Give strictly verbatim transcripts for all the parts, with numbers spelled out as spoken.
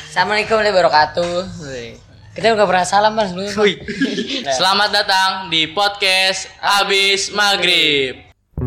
Assalamualaikum warahmatullahi wabarakatuh. Kita udah pernah salam Mas sebelumnya. Selamat datang di podcast Abis Maghrib.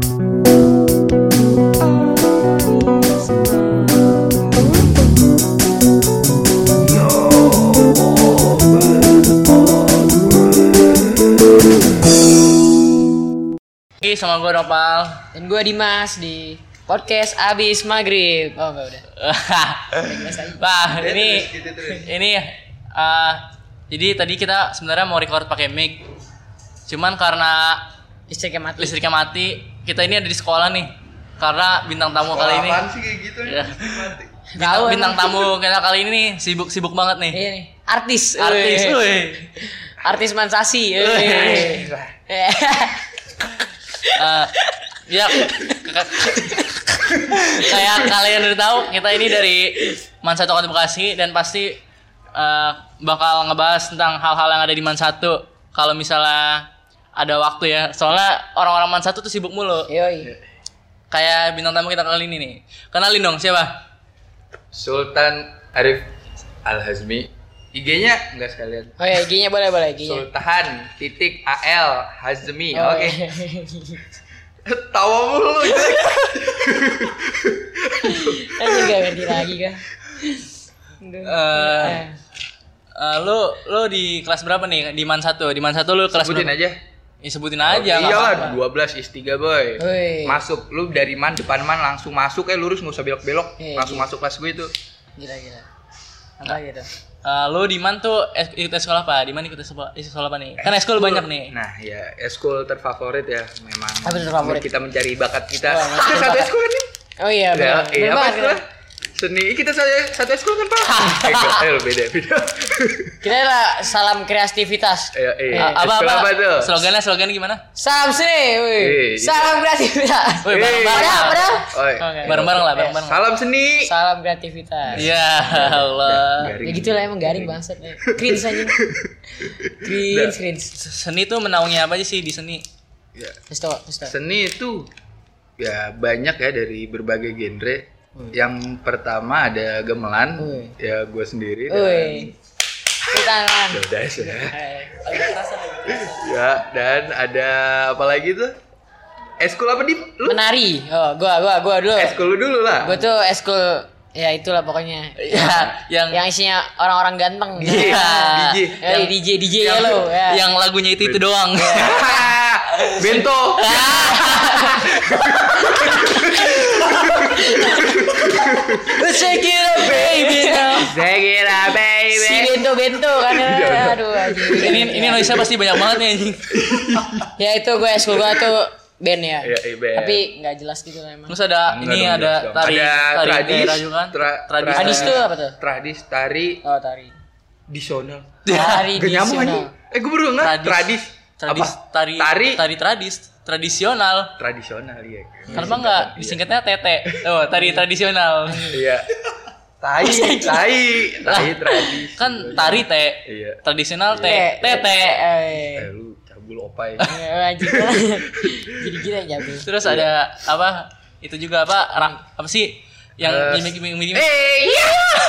Oke, sama gue Nopal Dan gue Dimas di podcast Abis Maghrib. Oh enggak udah. Wah, ini ini uh, jadi tadi kita sebenarnya mau record pakai mic. Cuman karena Listriknya mati. listriknya mati, kita ini ada di sekolah nih. Karena bintang tamu Sekolah kali ini. apaan sih kayak gitu Ya. mati. Bintang, Tahu bintang emang. tamu kita kali ini nih sibuk-sibuk banget nih. Iya nih. Artis. Artis, Wih. woi. Artis Mansasi. Wih. Wih. Eh, ya k- kayak kalian udah tahu kita ini dari Mansatu Kota Bekasi dan pasti eh, bakal ngebahas tentang hal-hal yang ada di Mansatu kalau misalnya ada waktu ya, soalnya orang-orang Mansatu tuh sibuk mulu. Yoi. Kayak bintang tamu kita kali ini nih, kenalin dong siapa? Sultan Arif Al-Hazmi. I G-nya enggak sekalian. Oh ya, I G-nya boleh boleh I G-nya. Sultan titik A L Hazmi. Oh, Oke. iya. Tawa mulu gitu. Anjir gak ngerti lagi kan. Aduh. Eh, Eh. Eh, lu lu di kelas berapa nih di Mansatu? Di Mansatu lu kelas Sebutin berapa? aja. Ya, sebutin aja. nggak Iyalah apa-apa. dua belas is tiga boy. Woi. Masuk lu dari man depan man langsung masuk, eh lurus enggak usah belok-belok. Iya, Langsung iya. masuk kelas gue itu. Gila gila. Apa gitu? Eh, lu di mana tuh es- ikut sekolah apa? Di mana ikut sekolah, sekolah apa nih? Kan eskul banyak nih. Nah, ya eskul terfavorit ya memang. Apa tuh terfavorit? Kita mencari bakat kita. Oh, Kita satu eskul kan nih. Oh iya, Ya, benar. iya Benar apa banget, eskul? kita. Seni kita satu satu eskul kan Pak? Eh, enggak, eh, beda beda. Kita adalah salam kreativitas. Iya, iya. Eh, apa Eskul apa? apa tuh? Slogannya slogannya gimana? Salam seni, woi. Eh, Salam kreativitas. Woi, bareng-bareng. Padahal, lah. padahal. Oi. Oke. Bareng-bareng lah, bareng-bareng. Salam seni. Salam kreativitas. Ya Allah. Garing. Ya gitu lah emang garing bangsat. Cringe aja. Cringe, cringe. Seni tuh menaungi apa aja sih di seni? Ya, Terus tau, terus tau. seni itu ya banyak ya dari berbagai genre. Yang pertama ada gamelan, Woi. ya gue sendiri. Woi. Tepuk tangan. Dan, udah ya. Eh, Ya, dan ada apa lagi tuh? Eskul apa di? Lu? Menari. Oh, gua gua gua dulu. Eskul lu dulu lah. Gua tuh eskul ya itulah pokoknya. Ya, yang Yang isinya orang-orang ganteng. Iya, Nah, D J. Ya, Yang- D J D J ya lo. Ya. yang lagunya itu itu doang. Bento. Let's shake it up baby now. Segera Si baby. bento bento kan. Aduh anjing. ini ini noise pasti banyak banget nih anjing. Ya itu gue eskul gue tuh band ya. Iya, iya, band. Tapi nggak jelas gitu lah emang. Terus ada Enggak ini dong, ada jelas dong. tari Ada tari tradis, daerah juga kan? tra- Tradis. Tradis tuh apa tuh? Tradis, tari, Oh tari. tradisional. Tari Gak nyambung aja. tradisional. Eh gue baru nggak. Tradis. Tradis. Tradis, Apa? tari, Tari. tari tradis, tradisional. Tradisional iya. Kenapa enggak disingkatnya tete? Oh, tari tradisional. Iya. Tai, tai, tai tradis. Kan tari te, Iya. tradisional te, Te- tete. Eh Eh. lu cabul opai. Eh, anjing. Jadi gila ya. Bro. Terus ada apa? Itu juga apa? Rak, apa sih? Yang Eh, gimmick-gimmick. Eh, iya.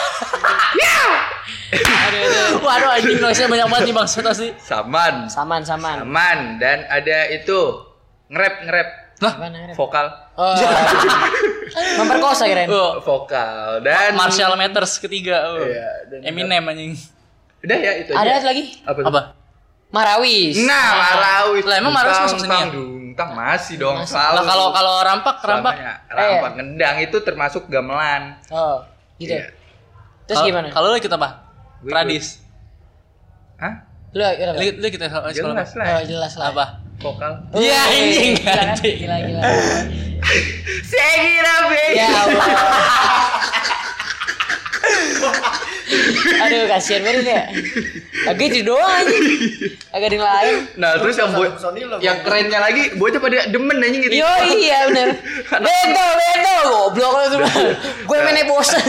Aduh, aduh. Waduh, anjing noise-nya banyak banget nih Bang. Satu sih. Saman. Saman saman. Saman dan ada itu nge-rap nge-rap Lah, Apaan, Arif? vokal. Oh. Memperkosa kirain. oh, Vokal dan Marshall Mathers ketiga. Oh. Iya, dan Eminem anjing. Udah ya itu Ada aja. satu lagi. Apa? tuh? Apa? Marawis. Nah, Marawis. Lah, emang Marawis masuk seni ya? Dungtang masih dong. Masuk. Selalu. Lah kalau kalau rampak, rampak. Selamanya. Eh, Rampak ngendang itu termasuk gamelan. Oh, gitu. Iya. Terus Kalau- gimana? Kalau lu ikut apa? Gue Tradis. Hah? Lu ikut apa? Lu lu ikut sekolah apa? Jelas lah. Oh, jelas lah. Apa? Vokal. Oh, Iya, anjing, gila kan? anjing. Gila gila. Segera baby. Ya Allah. Aduh, kasihan banget ya. Agak itu doang aja. Agak ada yang lain. Nah, terus yang boy, yang kerennya lagi, bocah pada demen anjing gitu. Yo iya bener. Bento, bento, goblok lu tuh. Gue mainnya bosan.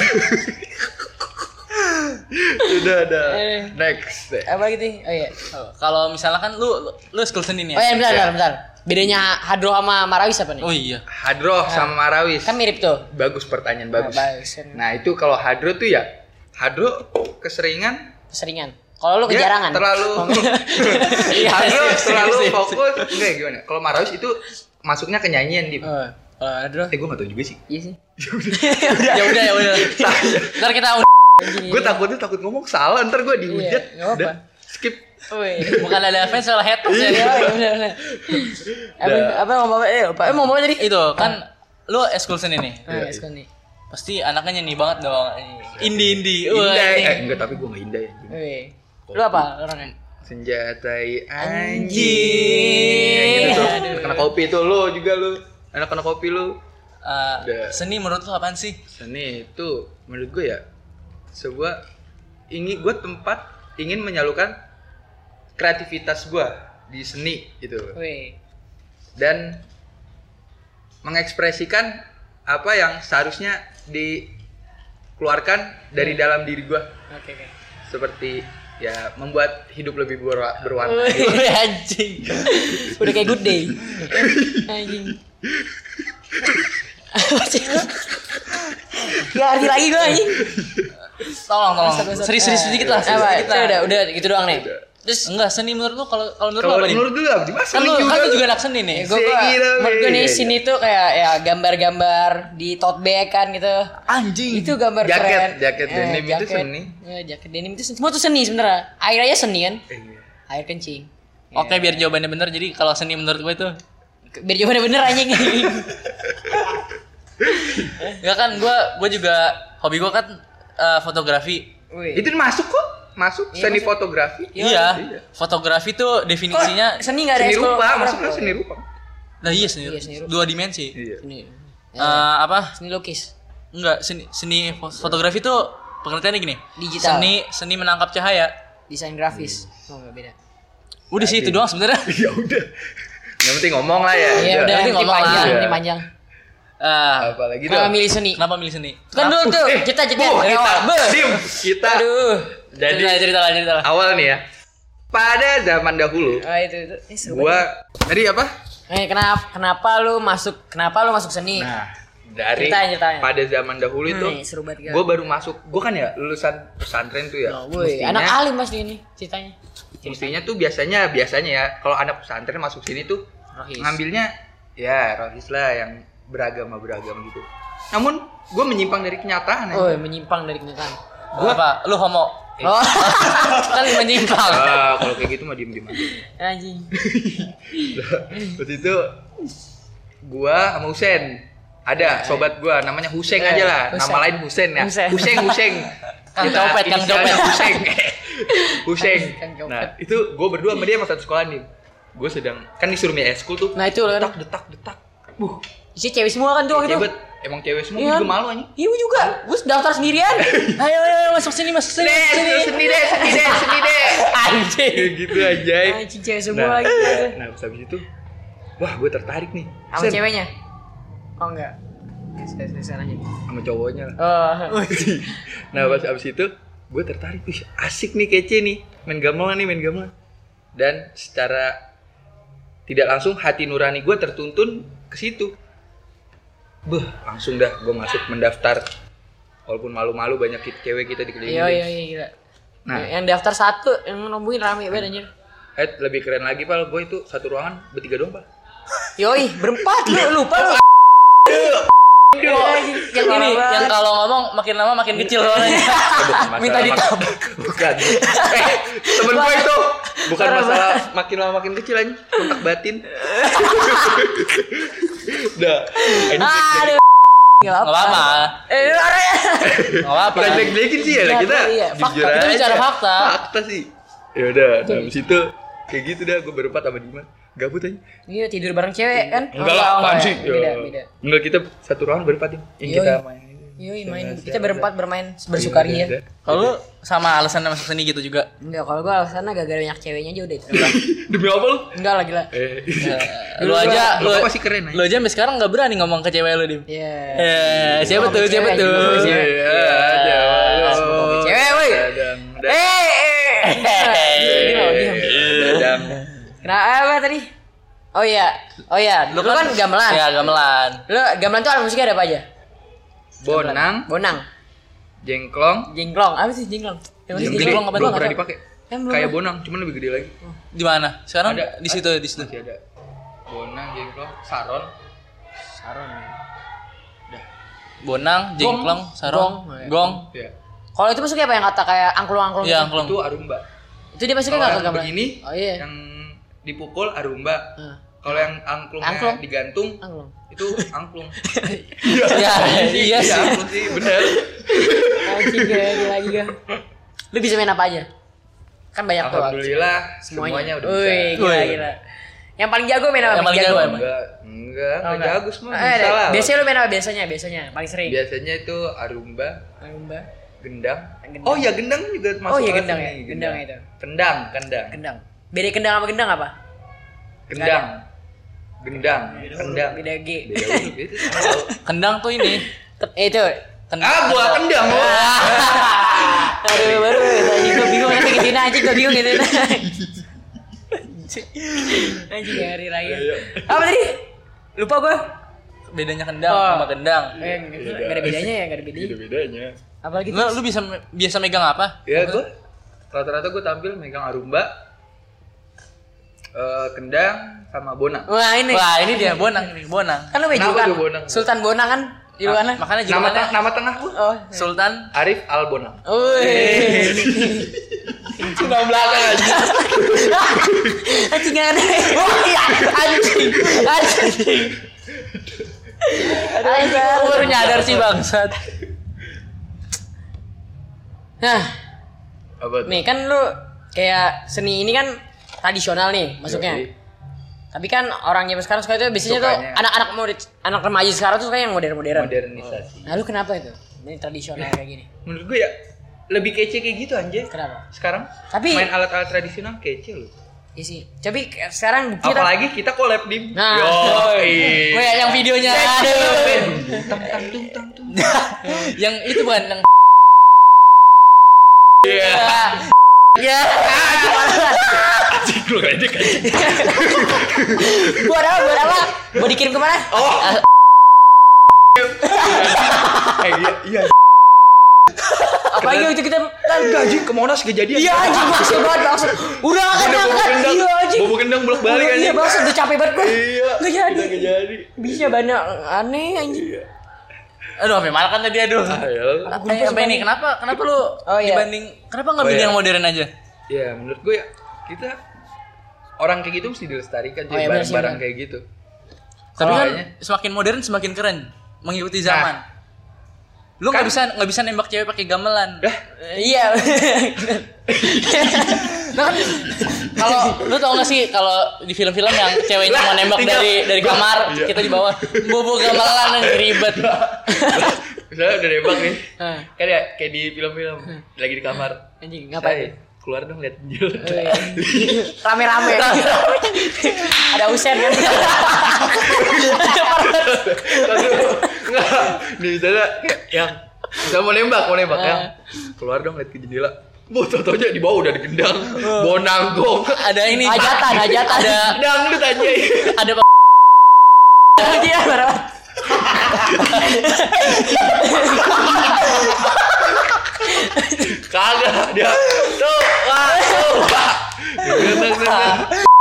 Udah, udah. Eh. Next. Apa gitu? Oh iya. Oh, kalau misalnya kan lu lu, lu school seni nih Oh ya? iya, bentar, bentar, bentar. Bedanya Hadro sama Marawis apa nih? Oh iya. Hadroh sama Marawis. Kan mirip tuh. Bagus pertanyaan bagus. Nah, bagus. Nah, itu kalau Hadroh tuh ya Hadro keseringan. Keseringan. Kalau lu Dia kejarangan. terlalu Iya, Hadro sip, sip, terlalu sip, sip. fokus. Enggak gimana? Kalau Marawis itu masuknya ke nyanyian di. Oh, kalau Hadro. Eh gue gak tau juga sih. Iya sih. Ya udah ya udah. Ntar kita Gue takutnya takut ngomong salah, ntar gue dihujat. Iya, nggak apa-apa. Udah, skip. Woi. bukan ada fans soal haters ya. Iya, iya benar benar. Apa apa mau bawa eh apa eh, mau bawa tadi? Itu kan lu eskul seni nih. Ah, ya, sekali nih. Pasti anaknya nyanyi banget dong. Indie-indie. Wah, Indah. ini. Eh enggak, tapi gue gak indah ya. Woi. Lu apa orangnya? Senjatai Anjing. anjing. Gitu tuh. Aduh. Anak kopi tuh lu juga lu. Anak-anak kopi lu. Eh, Udah. seni menurut lu apaan sih? Seni itu menurut gue ya sebuah ingin gue tempat ingin menyalurkan kreativitas gue di seni gitu Woi. dan mengekspresikan apa yang seharusnya dikeluarkan dari dalam diri gue Oke oke. seperti ya membuat hidup lebih berwa- berwarna. Woi anjing. Udah kayak good day. Anjing. Gak ngerti lagi gue anjing. Tolong tolong. Serius-serius sedikit lah. Apa? Sedikit lah. Udah udah gitu doang nih. Terus Enggak, seni menurut lu kalau kalau menurut lu Kalau apa nih? menurut lu apa? Mas Kan lu kan lu juga anak seni nih. gue gue Segila, menurut gue nih weh. sini tuh kayak ya gambar-gambar di tote bag kan gitu. Anjing. Itu gambar Jaket, keren. jaket Eh, denim itu jaket. seni. Ya, jaket denim itu semua tuh seni sebenarnya. Air aja seni kan? Eh, iya. Air kencing. Oke, biar jawabannya bener. Jadi kalau seni menurut gue itu Biar jawabannya bener anjing. ya kan gue gue juga hobi gue kan eh, fotografi. Wih. Itu masuk kok, masuk Iya, seni masuk. fotografi. Iya. Iya. Iya. Fotografi tuh definisinya Kok seni enggak ada Seni ekskul rupa, fotografi? masuknya seni rupa. nah iya seni, Iya, seni rupa. dua dimensi. Iya. Seni. Eh, apa? Seni lukis. Enggak, seni seni fo- fotografi tuh pengertiannya gini. Digital. Seni seni menangkap cahaya. Desain grafis. Oh, enggak beda. Udah sih itu doang sebenarnya. Ya udah. Yang penting ngomong lah ya. Iya udah nanti ini ngomong lah. panjang, Iya. ini panjang. Eh, Apalagi Kenapa dong. milih seni? kenapa milih seni? Kan dulu tuh Eh, kita jadi oh, kita, Beuh. dim, kita. Aduh. Jadi cerita, cerita lah, cerita lah. awal nih ya. Pada zaman dahulu, Ah itu itu. Eh, seru gua tadi apa? banget. Eh kenapa kenapa lu masuk kenapa lu masuk seni? Nah, dari Ceritain, ceritain. pada zaman dahulu itu, Hmm, seru banget, Kak. gua baru masuk. Gua kan ya lulusan pesantren tuh ya. Oh, woi, Mestinya- anak alim pasti ini ceritanya. Mestinya tuh biasanya biasanya ya kalau anak pesantren masuk sini tuh Rohis. ngambilnya ya rohis lah yang beragama beragam gitu. Namun gue menyimpang dari kenyataan. Oh, aja. menyimpang dari kenyataan. Gua apa? Lu homo. Oh, kan menyimpang. Ah, kalau kayak gitu mah diem diem aja. Anjing. Waktu itu gua sama Husen ada sobat gua namanya Huseng Eh, aja lah, Huseng. nama lain Husen ya. Huseng. Huseng Huseng. Kang Kita Copet, Kang inisialnya Copet. Huseng. Huseng. Kang Copet. Nah, itu gua berdua sama dia sama satu sekolah nih. Gua sedang kan disuruh milih eskul tuh. Nah, itu kan. detak detak detak. Buh, Isi cewek semua kan tuh waktu itu. cewek emang cewek semua Iya. gua juga malu anjing. Iya gua juga. Gua daftar sendirian. Ayo, ayo, ayo, masuk sini, masuk sini. Deh, masuk sini. seni deh, seni deh, seni deh. Anjing. Kayak gitu aja. Anjing cewek semua Nah, lagi. nah, habis itu wah, gue tertarik nih. Sama Sen, ceweknya? Oh enggak. Sekarang aja. sama cowoknya lah. Oh. Nah, pas abis itu gue tertarik, wih asik nih, kece nih, main gamelan nih, main gamelan. Dan secara tidak langsung hati nurani gue tertuntun ke situ. Beuh, langsung dah gue masuk mendaftar. Walaupun malu-malu banyak kita, cewek kita dikelilingi. Iya iya iya gila. Nah. Yang daftar satu yang nungguin rame banget anjir. Eh, lebih keren lagi, Pal, gue itu satu ruangan bertiga doang, Pal. Yoi, berempat lu lupa lu. Yang ini, yang kalau ngomong makin lama makin kecil soalnya. Eh, bukan masalah Minta mak- ditabrak. Bukan. Eh, temen gue itu bukan Parah masalah makin lama makin kecil aja, kontak batin. Dah. Ini Aduh. Enggak Enggak apa-apa. Eh, lu ada ya. Enggak apa-apa. bukan jelek-jelekin sih ya lah, kita. Iya, fakta. Jujur Kita aja. bicara fakta. Fakta sih. Ya udah, nah, habis itu kayak gitu dah gue berempat sama Dimas. Gabut aja. Iya, tidur bareng cewek kan? Enggak Oh, lah, apaan enggak sih? ya. Beda, Ya. beda. Enggak, kita satu ruangan berempat nih. Yang Yoi. kita main. Yoi, main Sama kita siapa? berempat bermain bersukaria. Iya, Kalau lu sama alasan masuk seni gitu juga. Enggak, kalau gua alasannya gara-gara banyak ceweknya aja udah itu. Demi apa lu? Enggak lah gila. Eh, Lu aja, lu, apa sih keren aja. lu aja sampai sekarang nggak berani ngomong ke cewek lu, Dim. Iya. Eh, siapa Ngomong tuh? Siapa cewek, tuh? ngomong cewek. Iya, ada. ngomong cewek, woi. Dadang, dadang. Eh, eh. Diam, diam. Dadang. Kenapa apa tadi? Oh iya, oh iya. Lu kan gamelan. Ya, gamelan. Lu gamelan tuh alat musiknya ada apa aja? Bonang, Bonang. Jengklong. Jengklong. Apa sih jengklong? Yang Yang mana gede jengklong apa belum tuh? pernah dipakai. Kan belum. Kayak bonang, cuman lebih gede lagi. Di mana? Sekarang Ada. di situ di situ. Masih ada. Bonang, jengklong, saron. Saron. Bonang, jengklong, sarong, Gong. gong. Ya. Kalau itu masuknya apa yang kata kayak angklung-angklung Iya, gitu? angklung. Itu arumba. Itu dia masuknya Kalau enggak ke yang gamelan? begini, Oh iya. yang dipukul arumba. Heeh. Kalau yang angklungnya Angklung. digantung, Angklung. itu angklung. Ya, iya sih. angklung sih, bener. Anjing gila gila. Lu bisa main apa aja? Kan banyak tuh. Alhamdulillah, semuanya, udah bisa. Wih, gila Wih. gila. Yang paling jago main apa? Yang paling jago emang. Enggak, enggak, Oh, enggak jago semua. Eh, Bisa deh. lah. Biasanya lu main apa biasanya? Biasanya paling sering. Biasanya itu arumba, Arumba. gendang. Gendang. Oh ya gendang juga masuk. Oh iya kelas gendang ini, ya. Gendang itu. Kendang, kendang. Kendang. Beda kendang sama gendang apa? Gendang. Gendang, kendang. Beda G. Beda huruf itu. Tahu. Kendang tuh ini. Eh itu. Kendang. Ah, gua kendang lu. Aduh, baru anjing gua bingung nanti gituin aja gua bingung gituin. Anjing hari raya. Apa tadi? Lupa gua. Bedanya kendang Oh. sama gendang. Eh, enggak ada bedanya ya, enggak ada bedanya. Beda bedanya. Apalagi Lu, lu bisa biasa megang apa? Ya gua rata-rata gua tampil megang arumba, eh, kendang sama bonang. Wah, ini. Wah, ini dia bonang ini, bonang. Kan lu Kenapa julukan tuh Bonang? Sultan Bonang kan? Julukannya. Makanya Nama, julukannya teng- nama tengah gua Oh. Sultan Arif Al Bonang. Wih. Nama belakang aja. Anjing aneh. Oh iya, anjing. Anjing. Aduh, aku baru nyadar sih bangsat. Nah, Apa tuh? nih kan lu kayak seni ini kan tradisional nih masuknya. Yoi. Tapi kan orang zaman sekarang suka itu biasanya tuh Sukanya. anak-anak murid, anak remaja sekarang tuh suka yang modern-modern. Modernisasi. Nah, lu kenapa itu? Ini tradisional kayak gini. Menurut gua ya lebih kece kayak gitu anjay. Kenapa? Sekarang Tapi- main alat-alat tradisional kece loh. Iya sih. Tapi sekarang kita Apalagi kita collab dim. Nah. Yoi. Weh, yang videonya aduh. Tang tang tung tang tung. Yang itu bukan yang Iya. ya. Anjing lu gede kan. Buat apa? Buat apa? Mau dikirim kemana? Oh. Eh iya iya. Apalagi waktu kita kan Gaji ke Monas kejadian. iya anjing maksud banget maksud. Udah kan Udah bawa angkat. kendang. Iya anjing. Bawa kendang bolak-balik Iya anjing. maksud udah capek banget gua. Iya. Nggak jadi. Udah nggak jadi. Bisa banyak aneh anjing. Iya. aduh sampai malah kan tadi aduh. Ah, ya. Eh, apa ini? Kenapa kenapa lu Oh, iya. dibanding kenapa nggak Oh, bikin iya. yang modern aja? Ya menurut gue ya kita orang kayak gitu mesti dilestarikan Oh, jadi iya, benar sih, barang-barang benar. kayak gitu. Tapi kan Soalnya- semakin modern semakin keren, mengikuti zaman. Lu nggak Kan- bisa nggak bisa nembak cewek pakai gamelan. Dah, Iya. Nah kan kalau lu tau gak sih kalau di film-film yang ceweknya mau nembak tinggal- dari dari kamar, Iya. kita di bawah bobo gamelan yang ribet. misalnya udah nembak nih, Hah. kan ya kayak di film-film lagi di kamar. Anjing Saya ngapain? keluar dong lihat penjil. Rame-rame. Ada Usen kan. Enggak, nih misalnya kayak yang misalnya mau nembak, mau nembak Ah. yang keluar dong lihat ke jendela. Bu, tau-taunya di bawah udah digendang, bonang gong. Ada ini Hajatan, hajatan. ada Dangdut aja. ada Iya, marah. Kagak dia. Tuh, wah, tuh. Wah. Digendang, gendang.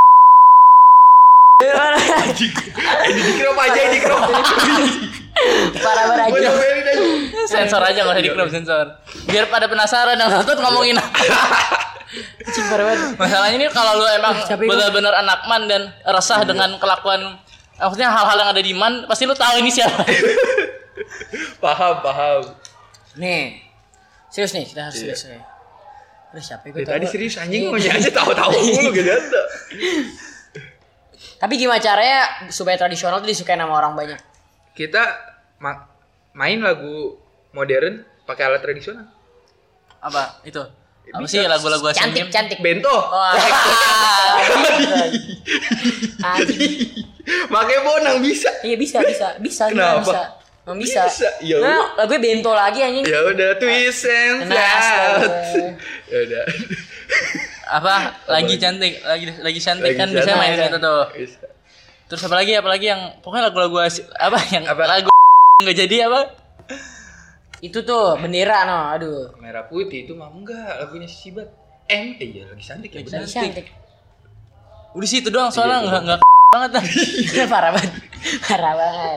Eh, di crop aja, di crop. Parah-parah Gue aja. nyobain aja. sensor aja nggak usah di crop sensor. Biar pada penasaran yang satu ngomongin apa. Anjing parah banget. Masalahnya ini kalau lu emang Capek gua. benar-benar anak man dan resah dengan kelakuan maksudnya hal-hal yang ada di man, pasti lu tahu ini siapa. Paham, paham. Nih. Serius nih, kita harus Iya. serius nih. Terus siapa gue Ya, tadi serius anjing ngomongnya aja tahu-tahu mulu gitu. Tapi gimana caranya supaya tradisional tuh disukai sama orang banyak? Kita ma- main lagu modern pakai alat tradisional. Apa itu? Apa Bisa. sih lagu-lagu Asian Cantik, Games? cantik. Bento. Wah, Anjing. Makanya bonang bisa. Iya bisa, bisa, bisa, Kenapa? bisa. Emang bisa. Bisa, ya Nah, udah. lagu bento lagi anjing. Ya udah twist and Nah, shout. astaga. Ya udah. apa lagi lagi? cantik, lagi lagi cantik Lagi kan biasanya cantik. mainin itu tuh. Bisa. Terus apa lagi? Apa lagi yang pokoknya lagu-lagu Asi- apa yang Apa? lagu nggak jadi apa? Itu tuh bendera no, aduh. Merah putih itu mah enggak lagunya Sibat. M eh iya lagi cantik ya benar. Lagi cantik. Udah situ doang soalnya Iya, enggak enggak banget dah. Parah banget. Parah banget.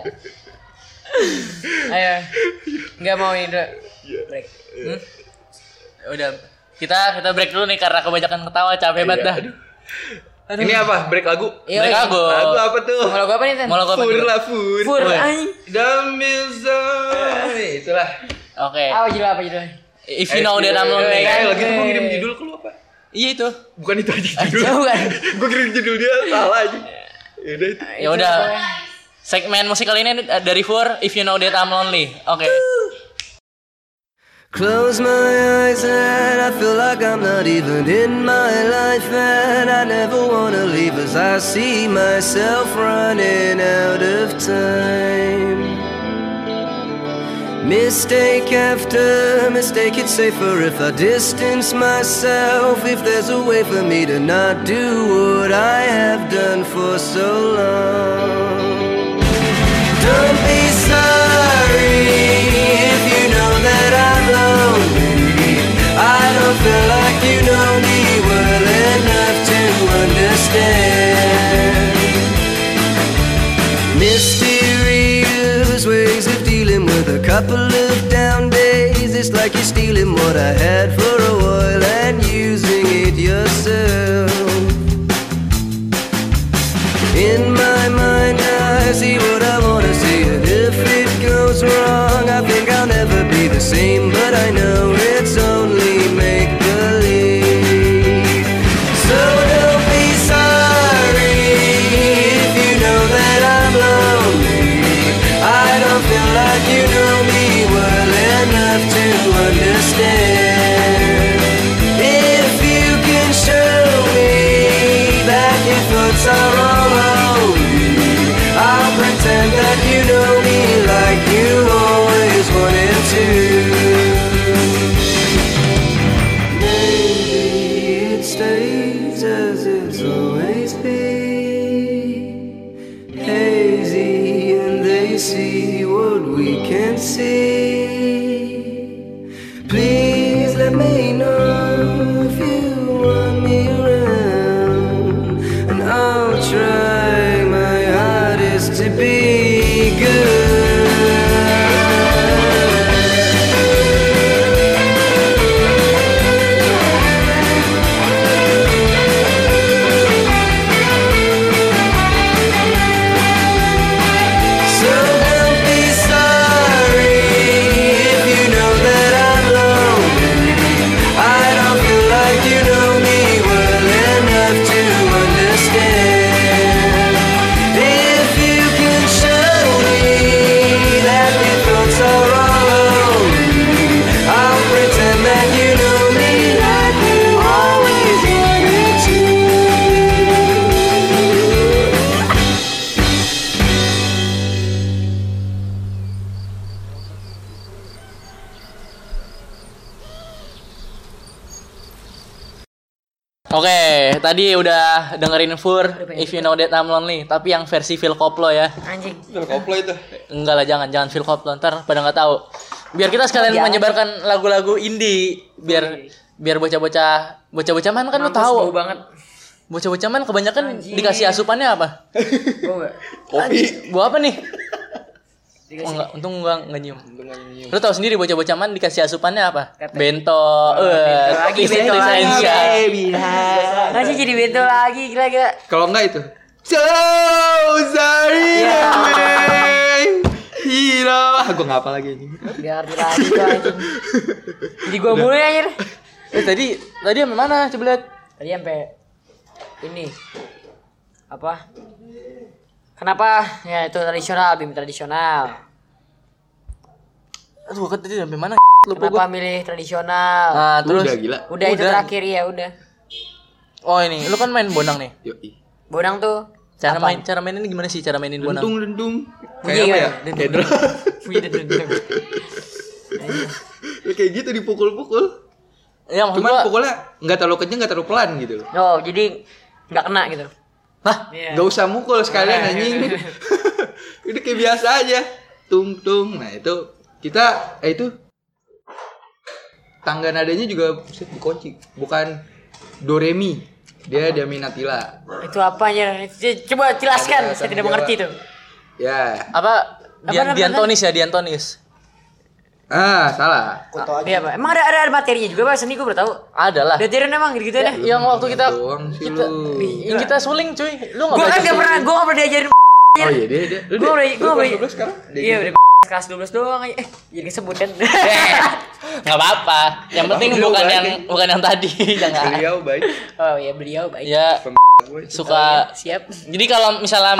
Ayo. Enggak mau ini dulu. Break. Hmm? Udah kita kita break dulu nih karena kebanyakan ketawa capek banget Iya, dah. aduh. Ini apa? Break lagu? Iya, Break iya. lagu. Lagu apa tuh? Mau lagu apa nih, Tan? Mau lagu apa Fur juga? lah Fur. Fur, Woi. anjing. Damilzone. Itulah. Oke. Apa judul apa judulnya? If you know that I'm lonely. Eh, lagi tuh gua ngirim judul ke lu apa? Iya itu. Bukan itu aja judul. Bukan. Gua kirim judul dia salah aja. Ya udah itu. Ya udah. Segmen musik kali ini dari Fur, If You Know That I'm Lonely. Oke. Close my eyes and I feel like I'm not even in my life, and I never wanna leave as I see myself running out of time. Mistake after mistake, it's safer if I distance myself. If there's a way for me to not do what I have done for so long. Don't be sorry if you know that I'm lonely. I don't feel like you know me well enough to understand. Mysterious ways of dealing with a couple of down days. It's like you're stealing what I had for a while and using it yourself. In my mind I see what I wanna see, and if it goes wrong I think I'll never be the same, but I know it's only make-believe. So don't be sorry if you know that I'm lonely. I don't feel like you know me well enough to understand. If you can show me that your thoughts are all I'll pretend that you know me like you always wanted to. Maybe it stays as it's always been, hazy and they see what we can't see. Please let me know if you want me around, and I'll try to be Oke, tadi udah dengerin Fur, If You Know That I'm Lonely, tapi yang versi Phil Koplo ya. Anjing. Phil Koplo itu. Enggak lah, jangan jangan Phil Koplo, ntar pada nggak tahu. Biar kita sekalian Jangan. menyebarkan lagu-lagu indie, biar biar bocah-bocah bocah-bocah man kan lu Mampus, tahu. bau banget. Bocah-bocah man kebanyakan Anjing. dikasih asupannya apa? Bau enggak? Kopi. Buah apa nih? Dikasih. Oh, enggak, untung enggak enggak nyium. Untung aja nyium. Lu tahu sendiri bocah-bocah man dikasih asupannya apa? Kata. Bento, bento eh, lagi, Chris- bento Chris lagi. Hemsworth. Masih jadi bento lagi gila-gila. Kalau enggak itu. So sorry. Ya. Hero. Ah, gua enggak apa lagi ini. Biar ngerti lagi gua anjing. Jadi gua mulu ya anjir. Eh tadi tadi sampai mana? Coba lihat. Tadi sampai ini. Apa? Kenapa? Ya itu tradisional, bim tradisional. Aduh, kan tadi sampai mana? Lupa Kenapa gua. milih tradisional? Nah, terus Udah gila. Udah, itu udah. terakhir ya udah. Oh, ini. Lu kan main bonang nih. Yoi. Bonang tuh. Cara apa? main cara mainin gimana sih cara mainin bonang? Lentung lentung. Bunyi Kayak apa kan? ya? Dendung. Kayak drum. Bunyi dendung. Ya, kayak gitu dipukul-pukul. Ya maksud Cuman gua. pukulnya nggak terlalu kenceng, nggak terlalu pelan gitu loh. Oh, jadi nggak kena gitu. Hah? Iya. Gak usah mukul sekalian anjing. Udah kayak biasa aja. Tung tung. Nah itu kita eh itu tangga nadanya juga buset dikunci. Bukan do re mi. Dia da mi na ti la. Itu apanya? Coba jelaskan, Ada saya tidak tanggung mengerti itu. Ya. Apa? Dian, Apa, apa, Diantonis ya, Diantonis. Ah, salah. Dia apa? Emang ada ada materinya juga Pak seni gue baru tahu. Ada lah. Ada tiran emang gitu ya. Yang waktu kita Doang sih kita lu. yang kita suling cuy. Lu enggak Gue kan belajar gak pernah, suling. gue gak pernah diajarin. Oh iya dia dia. Gue udah, gue udah. dua belas sekarang. Iya udah kelas dua belas doang aja. Eh, jadi kesebut kan. Enggak apa-apa. Yang penting Beliau bukan baik. yang bukan yang tadi, jangan. Beliau baik. Oh iya beliau baik. Ya Gue suka. Siap. Jadi kalau misalnya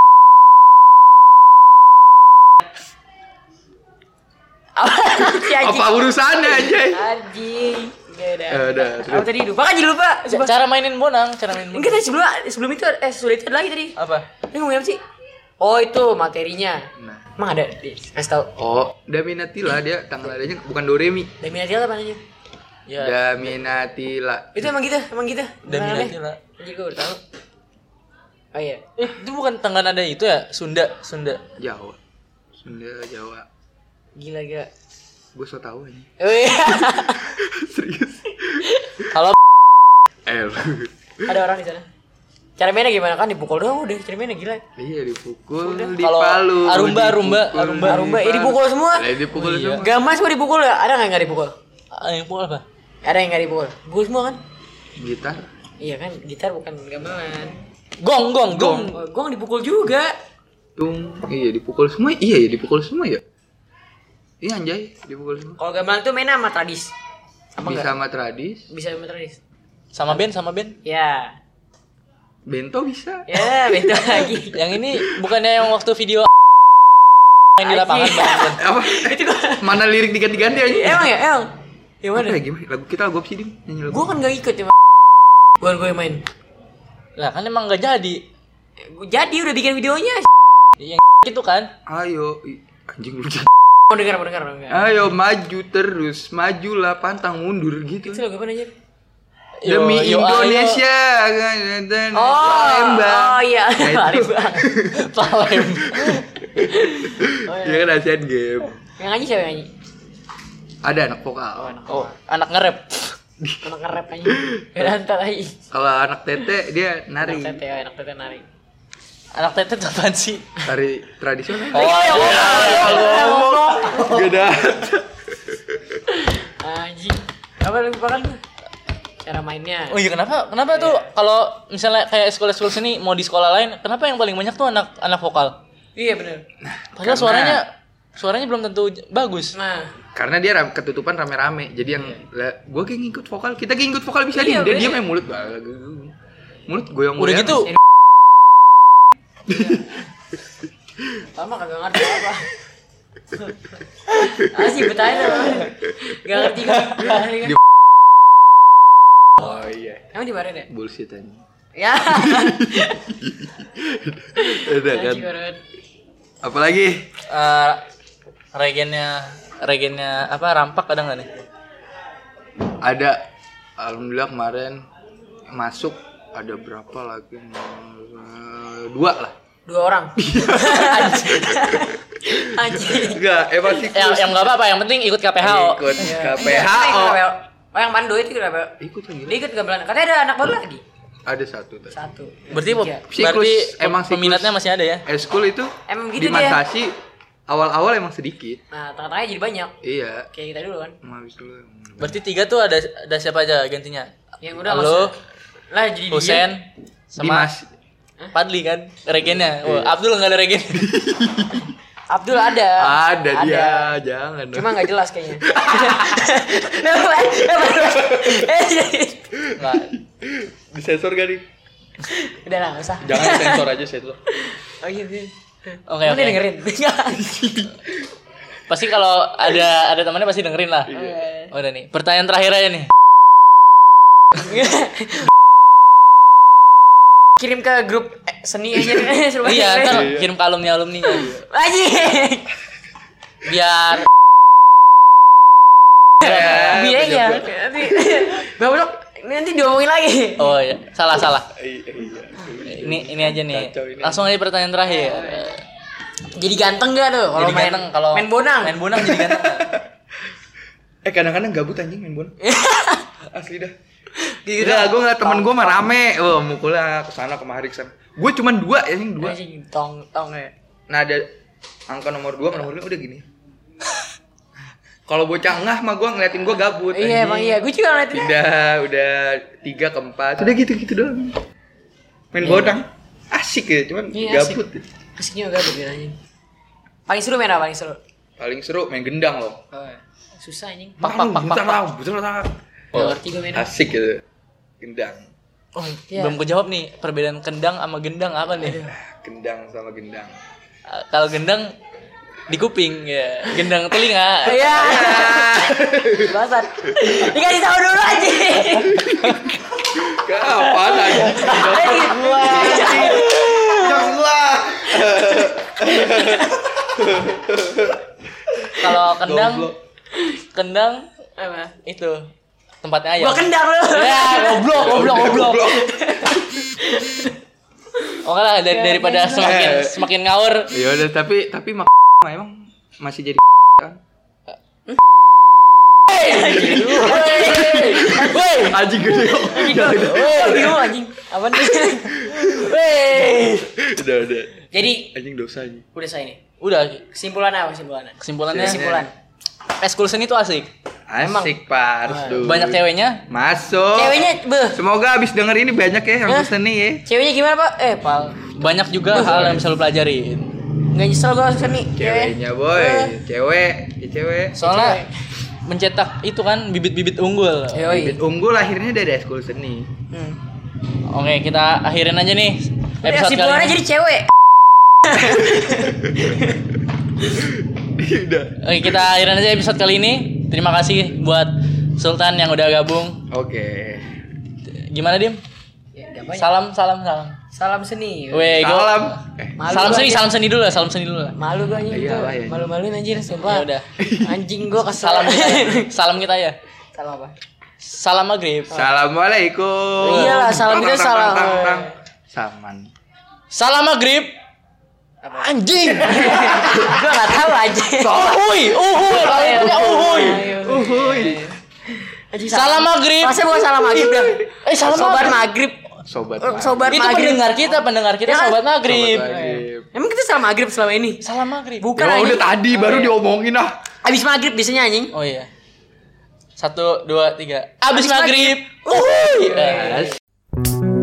Si anjing. apa urusannya aja? Anjing. Ya udah. Ya udah, Apa tadi lupa kan jadi lupa. Coba. cara mainin bonang, cara mainin bonang. Enggak tadi sebelum sebelum itu eh sebelum itu ada lagi tadi. Apa? Ini ngomongin apa sih? Oh itu materinya. Nah. Emang ada? Kasih tau. Oh, da mi na ti la dia tanggal nadanya bukan do re mi. Deminatial apa namanya? Ya. Da mi na ti la. Itu emang gitu, emang gitu. Deminatial. Anjir gue baru tahu. Oh iya. Eh, itu bukan tangga nada itu ya? Sunda, Sunda. Jawa. Sunda Jawa. Gila gila. Gue so tau aja. Oh iya. Serius. Kalau Eh. lu. Ada orang di sana. Cara mainnya gimana kan dipukul doang udah. Cara mainnya gila. Iya dipukul, Kalau dipalu. Arumba, Arumba, dipukul, Arumba, Arumba, eh, dipukul semua. Lah dipukul Oh, iya. semua. Gamas mau dipukul ya? Ada nggak yang nggak dipukul? ah, yang pukul apa? Ada yang nggak dipukul. Pukul semua kan? Gitar. Iya kan, gitar bukan gamelan. Gong, gong, gong. Oh, gong dipukul juga. Tung. Iya dipukul semua. Iya ya dipukul semua ya. Iya anjay, dipukul semua. Kalau gamelan tuh mainnya sama tradis. Apa Bisa enggak? sama tradis, Bisa sama tradis. Sama band, sama band. Ya. bento bisa. Ya, beda lagi. Yang ini bukannya yang waktu video main di lapangan Anjing. Bang. Apa? Itu gua. Mana lirik diganti-ganti aja? Emang ya, emang. Yang mana? Apa ya gimana? Lagu kita lagu apa sih, Dim? Nyanyi lagu. Gua kan gak ikut ya. Gua gue main. Lah kan emang nggak jadi. Gua jadi udah bikin videonya. Yang itu kan. Ayo, Ih, anjing lu. Mau dengar, mau dengar, mau dengar. Ayo maju terus, majulah pantang mundur gitu. Itu lagu apa aja? Demi Yo, yo, Indonesia. Oh, Palembang. oh iya. Nah, itu. Palembang. Palembang. Oh, Iya kan Asian Game. Yang nyanyi siapa yang nyanyi? Ada anak vokal. Oh, anak nge-rap. Anak nge-rap aja. Beda antar aja. Kalau anak tete dia Anak nari. tete, oh, anak tete nari. Anak tete tuh apaan sih? Tari tradisional. Oh, ya ngomong. Beda. Anjing. Apa lu lupa kan? Cara mainnya. Oh iya kenapa? Kenapa tuh kalau misalnya kayak sekolah-sekolah seni mau di sekolah lain, kenapa yang paling banyak tuh anak anak vokal? Iya benar. Padahal Karena- suaranya suaranya belum tentu j- bagus. Nah, Karena dia ram- ketutupan rame-rame. Jadi yang lah, gua kayak ngikut vokal, kita kayak ngikut vokal bisa Iya, nih. Dia bener. diam main mulut. Mulut goyang-goyang. Udah gitu lama kagak ngerti apa. Asih bertanya loh. Gak ngerti kan? Gak ngerti kan? Oh iya. Emang dimarahin ya? Bullshit aja. Ya. Udah kan. Anjing banget. Apalagi? eh regennya regennya apa rampak ada nggak nih? Ada. Alhamdulillah kemarin masuk ada berapa lagi? Eh, Dua lah. Dua orang. Anjing. Enggak, emang sih Yang yang nggak apa-apa, yang penting ikut K P H O. ikut Iya. K P H O. Oh yang Pando itu kenapa? Ikut lagi. Dia ikut gamelan. Katanya ada anak baru lagi. Ada satu tadi. Satu. Berarti Tiga. Siklus, berarti emang siklus. peminatnya masih ada ya? Eskul itu Emang di gitu dia. Mansasi awal-awal emang sedikit. Nah, tengah-tengahnya jadi banyak. Iya. Kayak kita dulu kan. Emang habis dulu. Berarti tiga tuh ada ada siapa aja gantinya? Yang udah Halo, masuk. Lah jadi Husen, sama Dimas. Padli kan regennya. Oh, Abdul nggak ada regen. Abdul ada. Ada dia, jangan. dong. Cuma nggak jelas kayaknya. Nggak. Disensor gak nih? Udah lah, nggak usah. Jangan sensor aja sensor. Oh iya, iya. Oke Emang oke. dia dengerin. Pasti kalau ada ada temannya pasti dengerin lah. Iya. Udah nih, pertanyaan terakhir aja nih. Kirim ke grup eh, seni aja suruh Iya, aja. ntar kirim ke alumni alumni Anjing. biar Biar ya. Nanti goblok nanti diomongin lagi. oh ya salah salah. Iya. Ini ini aja nih. Kacau ini. Langsung aja pertanyaan terakhir. Jadi ganteng gak tuh kalau Jadi main ganteng kalau main bonang? Main bonang jadi ganteng. nggak? Eh kadang-kadang gabut anjing main bola. Asli dah. Gitu Enggak, gue ngeliat temen gue mah rame. Wah, mukulnya kesana kemari kesana. Gue cuman dua ya, anjing dua. Anjing tong tong ya. Nah ada angka nomor dua sama nomor lima udah gini. Kalau bocah ngah mah gue ngeliatin gue gabut. Iya emang iya, gue juga ngeliatin. Udah, udah tiga ke empat. Udah gitu-gitu doang. Main bodang. Asik ya, cuman Iya, asik. gabut. Asiknya gabut ya anjing. Paling seru main apa paling seru? Paling seru main gendang loh. Oh, susah anjing. Pak pak pak pak. Bentar, bentar, bentar. Gak ngerti gue mainnya. Asik gitu. Gendang. Oh, Iya. belum kejawab nih perbedaan kendang sama gendang apa nih? Gendang sama gendang. Uh, kalau gendang di kuping ya, gendang telinga. Iya. Bangsat. Dikasih tahu dulu aja. Gak apaan aja. Jangan lah. Kalau kendang, Goblok. kendang Apa? itu tempatnya ayam. Gua kendang lu. Ya, goblok, goblok, goblok. Oke lah, dari, daripada semakin semakin ngawur. Ya udah, tapi tapi mak emang masih jadi kan? Woi, Anjing gede. Oh, bingung anjing. Apa nih? woi. Udah, udah. Jadi Anjing dosa anjing. udah saya nih. Udah, Kesimpulannya apa kesimpulannya? kesimpulannya Kesimpulan. eskul seni itu asik. Asik, Pak. Harus dulu. Banyak ceweknya. Masuk. Ceweknya, beh. Semoga abis denger ini banyak ya yang Hah? seni ya. Ceweknya gimana, Pak? Eh, Pal. Banyak juga hal yang bisa lu pelajarin. Enggak nyesel gua seni. Ceweknya boy, Eh. cewek, ya cewek. Soalnya mencetak itu kan bibit-bibit unggul. Yoi. Bibit unggul lahirnya dari ekskul seni. Hmm. Oke, kita akhirin aja nih Ya, episode kesimpulannya kali ini. jadi cewek. Udah. Oke, kita akhirin aja episode kali ini. Terima kasih buat Sultan yang udah gabung. Oke. Gimana, Dim? Ya, enggak banyak. Salam, salam, salam. Salam seni. Weh, gua- Salam. Eh, Malu salam gua seni, anjing. salam seni dulu lah, salam seni dulu lah. Malu gua anjing Iya itu. lah, iya. Malu-maluin anjir Ya sumpah. udah. Anjing gua kesel. Salam kita ya. Salam kita ya. Salam apa? Salam maghrib. Assalamualaikum. Iyalah, salam kita Tang, tang, salam. tang, tang, tang. Saman. Salam maghrib. Anjing. Gua enggak tahu aja. Uhuy, uhuy, kalian punya uhuy. Uhuy. Anjing, Salam maghrib. Masa bukan salam maghrib dah. Eh, salam Sobat maghrib. maghrib. Sobat. Oh, sobat Itu maghrib. pendengar kita, pendengar kita Ya kan? sobat maghrib. Sobat maghrib. Emang kita salam maghrib selama ini? Salam maghrib. Bukan Ya anjing. udah tadi baru diomongin ah. Abis maghrib biasanya anjing. Oh iya. Satu, dua, tiga. Abis Abis maghrib. maghrib. Uhuy. Yes.